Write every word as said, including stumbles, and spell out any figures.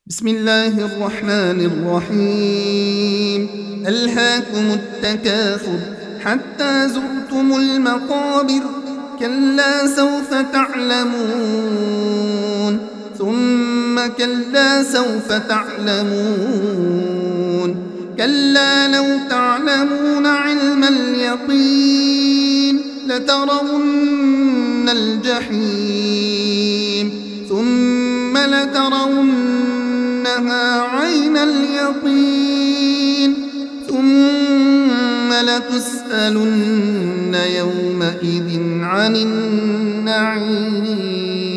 بسم الله الرحمن الرحيم. ألهاكم التكاثر حتى زرتم المقابر، كلا سوف تعلمون ثم كلا سوف تعلمون، كلا لو تعلمون علم اليقين لترون الجحيم ثم لترونها عين اليقين ثم لتسألن يومئذ عن النعيم.